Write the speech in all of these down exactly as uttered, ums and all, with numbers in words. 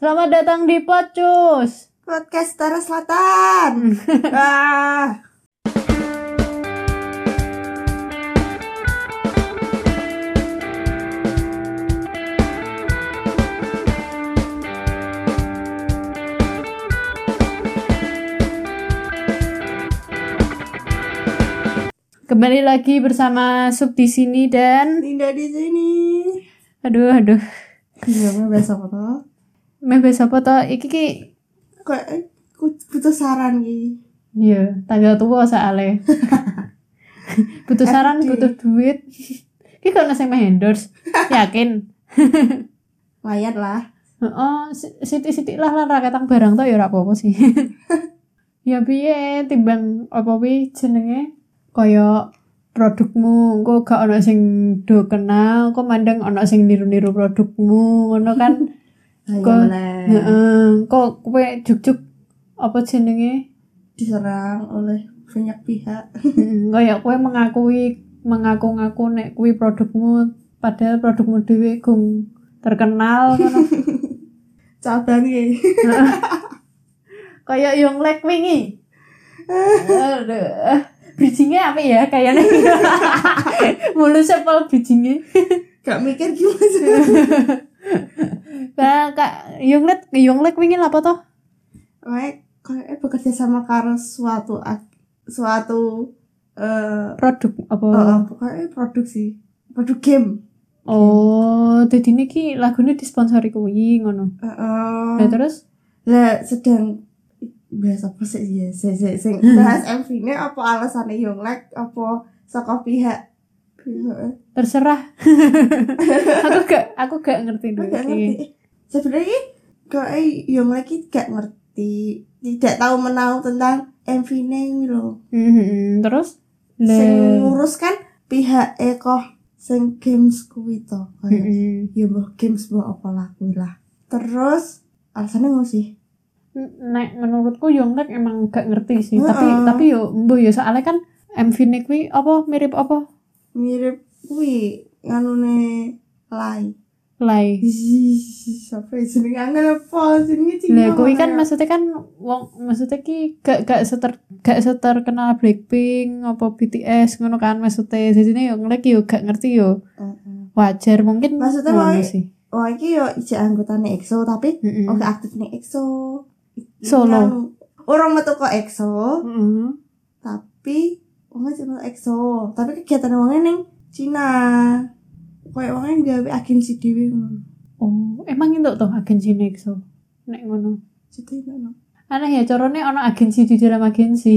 Selamat datang di Pocus Podcast Utara Selatan. ah. Kembali lagi bersama Sub di sini dan Linda di sini. Aduh, aduh. Gimana bahasa apa toh? Meh bahasa apa toh? Iki ki Kok butuh saran ki. iya, tanggal tua soalnya. Butuh saran, butuh duit. Ki kok nasi meh endorse. Yakin? Lumayan lah. Oh, sithik-sithik lah lah raketang barang toh ya ora apa-apa sih. Ya piye timbang apa wi jenenge kaya produkmu engko gak ana sing do kenal, kok mandang ana sing niru-niru produkmu, ngono kan. Kok heeh, kok kowe juk-juk apa jenenge diserang oleh banyak pihak. Heeh, kaya kowe mengakui mengaku-ngaku nek kuwi produkmu padahal produkmu dhewe gung terkenal ngono. Cabang iki. Kaya Yonglek wingi. Aduh. Bridging-nya apa ya kayaknya. Mulus sepal bridging-nya. Gak mikir gimana. Nah, Kak Yonglek, Yonglek wingi apa toh? Kayak kayak bekerja sama karo suatu suatu uh, produk apa? Uh, pokoknya produk sih. Produk game. Oh, jadi niki lagunya disponsori kuwi ngono. Heeh. Nah, terus lah sedang bahas apa sih ya? Sing sing bahas M V-ne apa alasane Yonglek apa saka pihak pihak terserah. aku gak aku gak ngerti dulu. Gak ngerti. Sebenarnya kok Yonglek iki gak ngerti, tidak tahu menahu tentang M V-ne kuwi lho. Hmm, terus sing ngurus kan pihak Eko sing games kuwi to. Heeh. Ya mbah games mbah apa lah kuwi lah. Terus alasannya ngono sih. Nek menurutku Yonglek emang gak ngerti sih, uh-uh. tapi tapi yo mbuh yo soalnya kan M V-ne kuwi apa mirip apa? Mirip kuwi nganune Lai. Lai. Sampai jenenge angel apa jenenge Cina. Lah kuwi kan maksudnya kan wong maksudnya ki gak gak seter gak seterkenal Blackpink apa B T S ngono kan maksudnya. Jadinya Yonglek yo gak ngerti yo. Uh-uh. Wajar mungkin maksudnya ngono wae, sih. Wah iki yo ijek anggotane E X O tapi Mm-mm. oke aktif ning E X O. Solo. Orang metu kok E X O. Heeh. Tapi wong cuma E X O, tapi kegiatan wong ning Cina. Kayak wong gawe agensi dhewe ngono. Oh, emang itu toh agensi Nexo. Nek ngono. Jadi ngono. Aneh ya carane ana agensi di dalam agensi.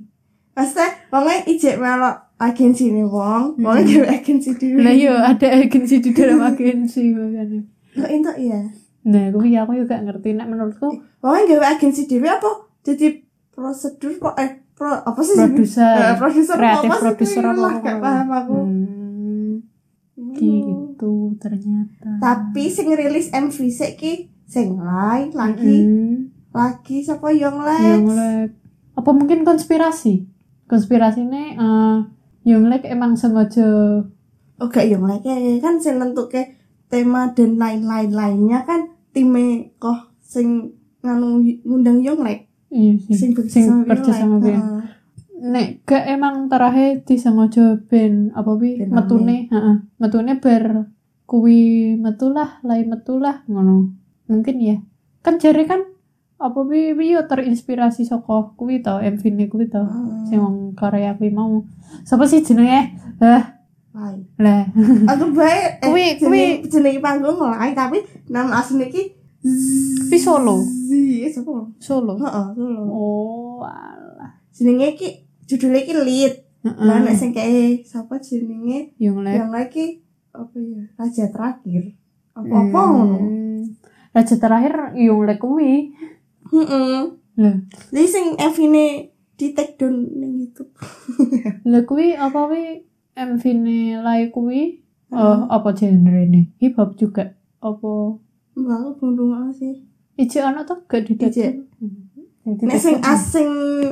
Pasti wong ijek melok agensi ning wong, wong gawe agensi dhewe. Lah yo ada agensi di dalam agensi makanya. Kok entuk ya? Nah, kuwi aku juga ngerti nek menurutku Wong gawe agensi dhewe apa? Jadi prosedur kok eh pro apa sih? produser, uh, produser kreatif apa sih? produser apa Lah, gak paham aku. Hmm, gitu ternyata. Tapi sing rilis M V sik ki sing lain lagi. Mm-hmm. Lagi sapa Yonglek? Yonglek. Apa mungkin konspirasi? Konspirasine uh, Yonglek emang sengaja Oh gak Yonglek kan sing nentuke tema dan lain-lain lainnya kan time kok sing nganu ngundang Yonglek. iya sih. Sing Sing kerja sama Ben. Uh, Nek gak emang terakhir disengaja ben apa wi Ben metune, heeh. Metune ber kuwi metulah, lain metulah ngono. Mungkin ya. Kan jare kan apa wi wi yo terinspirasi saka kuwi to, M V-ne kuwi to. uh, Sing wong Korea kuwi mau. Sapa sih jenenge? Hah, lain. lah. Aku bae eh, Kuwi- jeneng jeneng panggung lain tapi nama asline ki Kuwi Solo. Zi, sapa? Solo. Heeh, Solo. Oh, alah. Jenenge ki judulnya ki Lead. Heeh. Lah nek sing kae sapa jenenge? Yonglek. Yang lagi apa ya? Raja terakhir. Apa-apa ngono. Hmm. Raja terakhir Yonglek kuwi. Heeh. Lah. Jadi sing M V-ne di take down ning YouTube. Lah kuwi apa wi M V-ne Lai kuwi? Oh, apa genre-ne? Hip hop juga. Apa Mbak aku belum sih. Ije ana to gak di Ije. Nek sing asing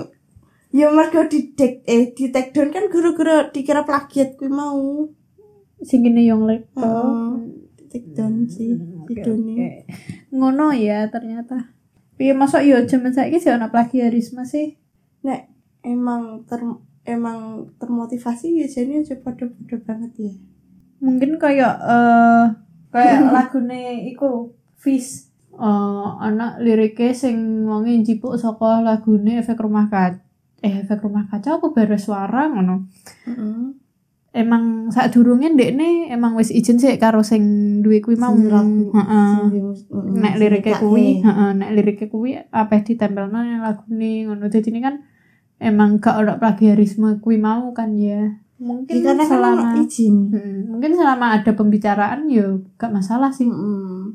ya mergo di take eh di take down kan guru-guru dikira plagiat kuwi mau. sing kene Yonglek. Heeh. Di take down sih videone. ngono ya ternyata. Piye masa yo jaman saiki sih ana plagiarisme sih. Nek emang ter emang termotivasi ya jane aja padha-padha banget ya. Mungkin kayak eh kayak lagune iku Fish. Eh ana lirike sing wonge njipuk saka lagune Efek Rumah Kaca. Eh Efek Rumah Kaca apa Bara Suara ngono. Heeh. Emang sadurunge ndekne emang wis izin sih karo sing duwe kuwi mau. Heeh. Nek lirike kuwi, heeh, nek lirike kuwi apa ditempelno nang lagune ngono. Dadi ini kan emang gak ada plagiarisme kuwi mau kan ya. Mungkin ya, selama kan izin. Hmm, mungkin selama ada pembicaraan ya gak masalah sih. Mm-mm.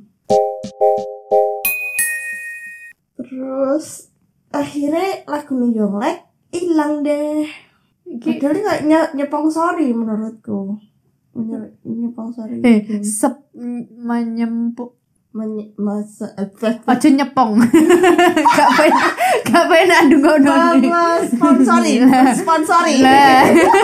Terus akhirnya lagu Yonglek hilang deh. Iki padahal kayak nye- nyepong sorry menurutku. Nye- nyepong sorry. eh sep menyempuk Menye- masa efek aja nyepong. Gak pengen gak pengen adu ngono. sponsori sponsori Lah.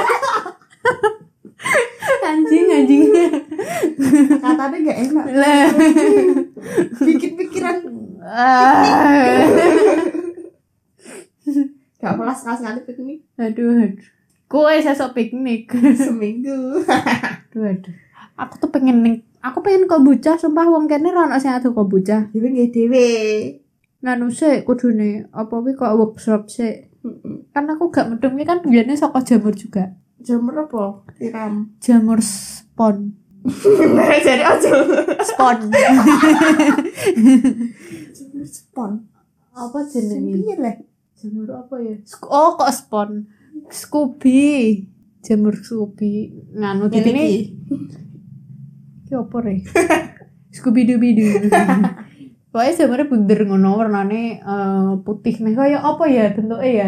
Anjing anjing. katanya gak enak Lah. bikin pikiran Ah. gak pernah sekali-sekali piknik Aduh, aduh. Kowe sesok piknik. seminggu. Aduh, aduh. Aku tuh pengen ning, aku pengen kombucha, sumpah wong kene ra ono sing adu kombucha. Dewe nggih dhewe. Nganu sik kudune apa kuwi kok workshop sik. Kan aku gak medhum iki kan biyane saka jamur juga. Jamur apa? Tiram. Jamur spon. Jadi aja. Spon. Jamur spon. Apa jenenge? Piye le? Jamur apa ya? Sk- Oh, kok spon. Scooby. Jamur Scooby. Nganu di sini. Ki opo re? Scooby Doo Doo. Pokoknya jamurnya bunder ngono warnane uh, putih meh kaya apa ya bentuke ya?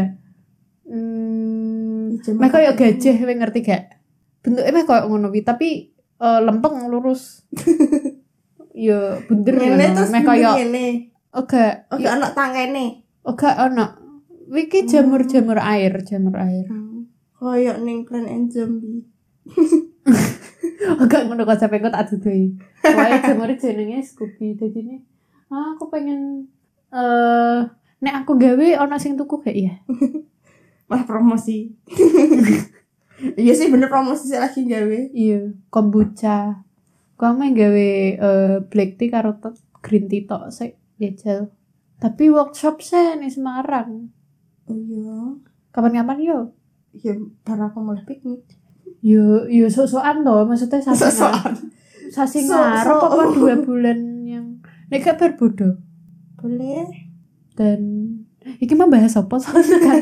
Hmm, meh kaya gajah kowe ngerti gak? Bentuke meh kaya ngono kuwi tapi uh, lempeng lurus. Ya bunder ngene ngono. terus Meh kaya ngene. oh gak, Oh gak ono tangene. oh gak ono. Iki jamur-jamur air, jamur air. Kayak ning Plan and Zombie. Oh gak ngono kok sampe kok tak dudui. Wae jamure jenenge Scooby dadi ini. Ah, aku pengen eh uh, nek aku gawe ana sing tuku gak ya? Wah promosi. Iya sih bener promosi sih lagi gawe. Iya, kombucha. Kamu gawe uh, black tea karo green tea tok sik jajal. Tapi workshop sih nih Semarang. Oh iya. Kapan-kapan yo? Ya bar aku mulai piknik. Yo yo sok-sokan to, maksudnya sasi Sok-sokan. Sasi So- ngarep so- apa dua bulan yang nek gak berbodo. Boleh. Dan iki mah bahas apa soalnya kan.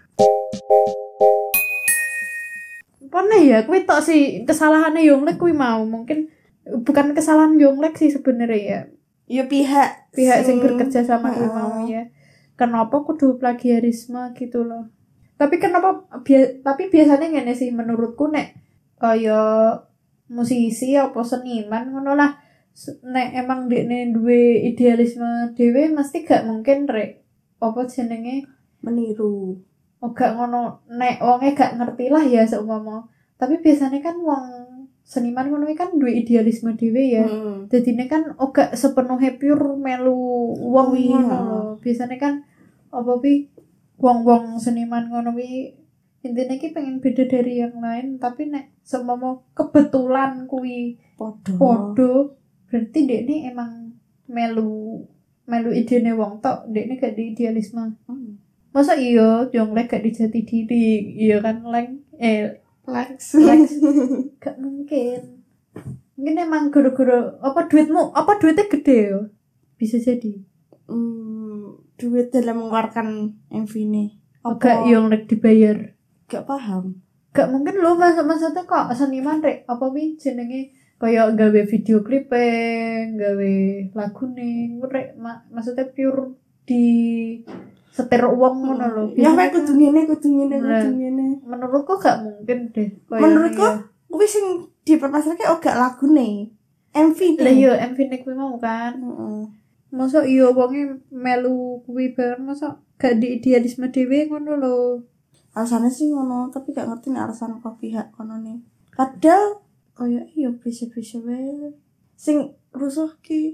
Pone ya, kuwi tok sih kesalahannya Yonglek kuwi mau. Mungkin bukan kesalahan Yonglek sih sebenarnya ya. Ya pihak Pihak sing bekerja sama kuwi Heeh. mau ya. Kenapa kudu plagiarisme gitu loh. Tapi kenapa bia- tapi biasanya ngene sih menurutku nek kaya musisi apa seniman ngono lah S- nek emang dekne duwe idealisme dhewe mesti gak mungkin rek apa jenenge meniru. oh gak ngono nek wonge gak ngerti lah ya seumpama tapi biasanya kan wong seniman ngono iki kan duwe idealisme dhewe ya Hmm. dadine kan oh gak sepenuhnya pure melu wong Iya. ngono lho biasanya kan apa pi wong-wong seniman ngono wi intine iki pengen beda dari yang lain tapi nek seumpama kebetulan kuwi Podo. podo berarti dekne emang melu melu idene wong tok dekne gak di idealisme Hmm. masa iya Yonglek gak dijati diri iya kan leng eh Lex. Lex. Gak mungkin mungkin emang goro-goro apa duitmu apa duitnya gede ya bisa jadi Hmm, duit dalam mengeluarkan M V ini. gak Yonglek dibayar Gak paham. gak mungkin lo mas maksudnya kok seniman rek apa wi jenenge kayak gawe video clipping gawe lagu nih rek ma- maksudnya pure di setir uang ngono lho Ya Biasanya kayak kudu ngene, kudu ngene, Nah. kudu ngene. menurutku gak mungkin deh Kayak Menurutku ya. kuwi sing dipermasalahke oh gak lagune. M V lah ne. yo M V nek kuwi mau kan Heeh. masa iya wonge melu kuwi bareng masa gak di idealisme dhewe ngono lho Alasannya sih ngono, tapi gak ngerti nih alasan kok pihak kono nih. Padahal kayak iya bisa-bisa wae. Sing rusuh ki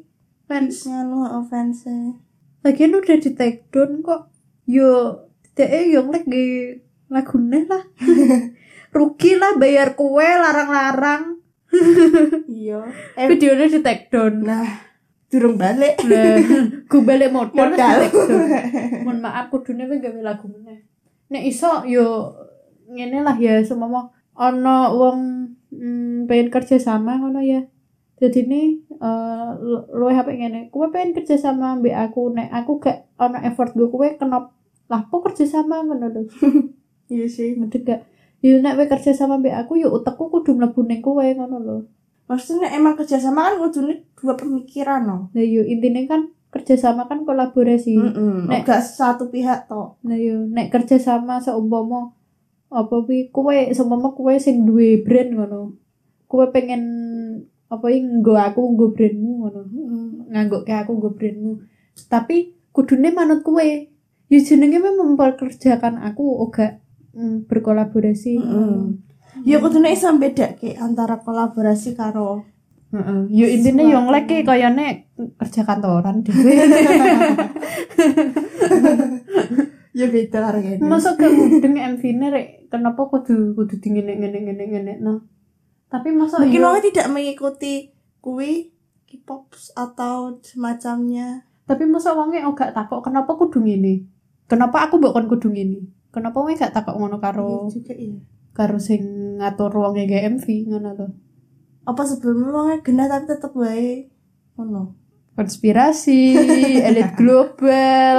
fans nganu offense. lagian udah di take down kok yo dhek yo lagi lagune lah rugi lah bayar kue larang-larang Iya. Eh, videonya di take down nah, durung balik. nah gue balik modal Modal. di take down mohon maaf kudune wis gawe lagu meneh nek iso yo ngene lah ya semama ono wong mm, pengen kerja sama ngono ya jadi ini uh, lu H P ngene kowe pengen kerja sama mbek aku nek aku gak ono effort gue kowe kenapa lah kok kerja sama ngono lho Iya sih. mending gak yo nek kowe kerja sama mbek aku yo utekku kudu mlebu ning kowe ngono lho Maksudnya emang kerjasama kan kudune dua pemikiran no. nah yo intine kan kerja sama kan kolaborasi Heeh. Nek- Gak satu pihak tok. nah yo nek kerja sama seumpama apa pi kowe seumpama kowe sing duwe brand ngono kowe pengen apa iki nggo aku nggo brandmu ngono nganggo ke aku nggo brandmu tapi kudune manut kowe ya jenenge memperkerjakan aku ora mm, berkolaborasi Heeh. Ya kudune iso bedake antara kolaborasi karo heeh yo intine yo nglek kayane kerja kantoran dhewe ya beda karo kene. masuk ke mudeng M V-ne rek kenapa kudu kudu dingene ngene ngene ngene no tapi masuk Mungkin yo orang tidak mengikuti kuwi K-pop atau semacamnya. tapi masa wonge gak takok kenapa kudu ngene kenapa aku mbok kon kudu ngene kenapa wonge gak takok ngono karo Iya juga iya. karo sing ngatur wonge gawe M V ngono lho Apa sebelumnya orangnya genah tapi tetep wae ngono. konspirasi elit global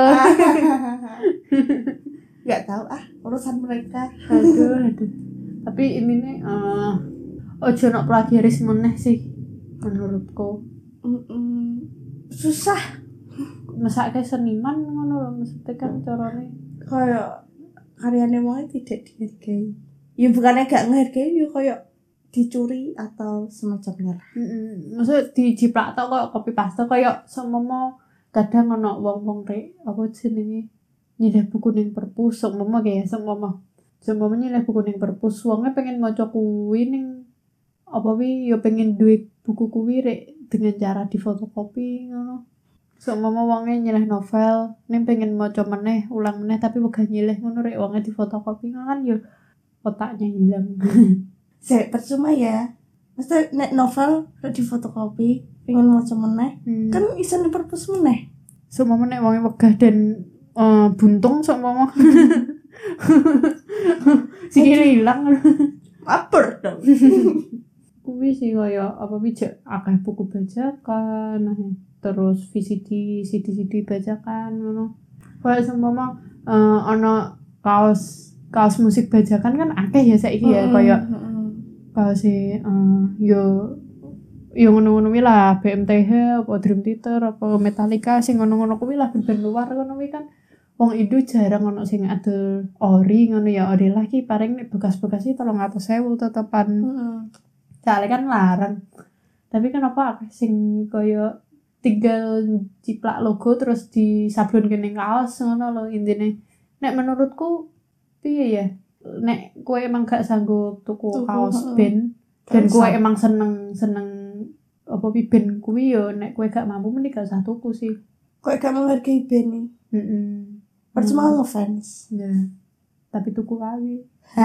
Gak tahu ah urusan mereka. aduh aduh tapi ini nih uh, ojo nak plagiaris meneh sih menurutku Mm-mm. Susah masa kayak seniman ngono lho maksudnya kan carane kayak karyanya mau tidak dihargai. Ya bukannya gak ngehargai ya kayak dicuri atau semacamnya. heeh maksud dijiplak tok kok copy paste kayak semomo kadang ono wong-wong rek apa jenenge nyilih buku ning perpus semomo kayak semomo semomo nyilih buku ning perpus wonge pengen maca kuwi ning apa wi ya pengen duit buku kuwi rek dengan cara difotokopi ngono semomo wonge nyilih novel ning pengen maca meneh ulang meneh tapi wegah nyilih ngono rek wonge difotokopi ngono kan ya otaknya hilang Saya percuma ya. Mesti nek novel udah difotokopi, pengen maca meneh, hmm. kan iso ning perpus meneh. Seumpama nek wonge wegah dan uh, buntung seumpama sikile ilang Aper dong. kuwi sih kaya apa bijak akeh buku bajakan nah, terus V C D C D C D bajakan ngono kaya seumpama uh, ana kaos kaos musik bajakan kan akeh ya saiki ya kaya kaos e uh, yo yo ngono-ngono kuwi lah B M T H apa Dream Theater apa Metallica sing ngono-ngono kuwi lah band luar ngono kuwi kan wong Indo jarang ono sing adol ori ngono ya ori lagi paling nek bekas-bekas iki tiga ratus ribu tetepan Heeh. soalnya kan larang tapi kenapa akeh sing kaya tinggal ciplak logo terus disablon kene kaos ngono lho intine nek menurutku piye ya nek kowe emang gak sanggup tuku Tuku, kaos heeh. band dan Gak kowe usah. emang seneng seneng apa pi band kuwi yo nek kowe gak mampu mending gak usah tuku sih Kok gak menghargai band nih? heeh Percuma ngefans. ya tapi tuku kali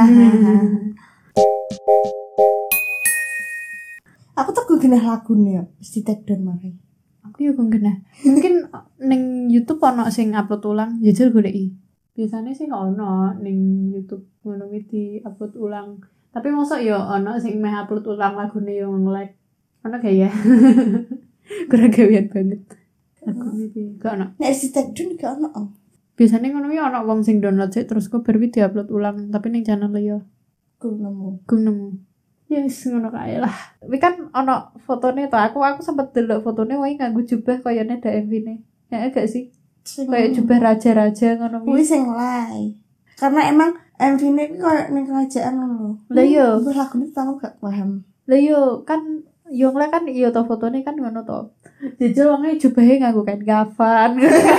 Aku tuh gue genah lagunya, mesti take down marai. aku yo genah mungkin ning YouTube ono sing upload ulang jajal goleki biasanya sih ono ning YouTube ngono kuwi di upload ulang tapi mosok yo ono sing meh upload ulang lagune yo nge-like ono gak ya kurang gawean banget lagune iki gak ono Nek mesti take down gak ono. biasanya ngono kuwi ono wong sing download sik terus kok baru di-upload ulang tapi ning channel liya Gue nemu. gue nemu yes ngono kae lah tapi kan ono fotone to aku aku sempet delok fotone wae nganggo jubah kayane ada M V-ne ya gak sih Sing kayak jubah raja-raja ngono kuwi kuwi sing lay. Karena emang M V-ne kuwi koyo ning kerajaan ngono. Lah iya. Gue lagune tahu gak paham. lah yo kan yo ngene kan iya to fotone kan ngono to jejel wonge jubahe nganggo kain kafan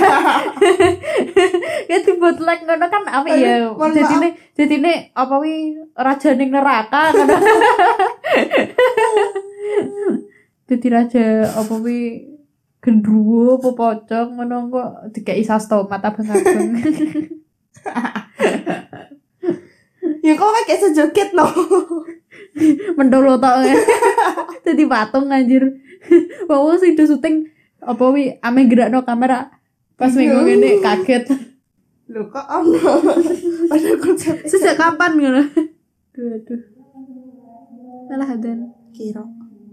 ya dibuat like ngono kan apa ya Aduh, mohon jadine jadine apa wi raja ning neraka ngono jadi raja apa wi gendruwo apa pocong ngono kok dikeki saus tomat abang-abang. Ya kok kayak sejoget no. Mendolo tok. Dadi patung anjir. Wong sing do syuting apa wi ame gerakno kamera pas minggu ngene kaget. Lho kok ono. Padahal konsep Sejak kapan ngono? Aduh aduh. Alah dan kira.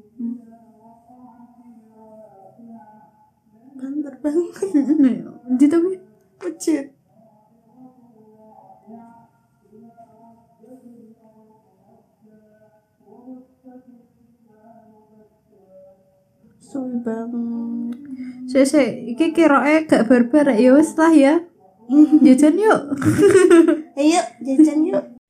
Banter banget. Ndi to wi? Pucet. Suwi banget. Sik sik iki kiroke gak barbar ya wis lah ya. Jajan yuk. Ayo jajan yuk.